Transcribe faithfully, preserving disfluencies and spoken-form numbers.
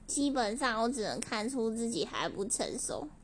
基本上我只能看出自己还不成熟。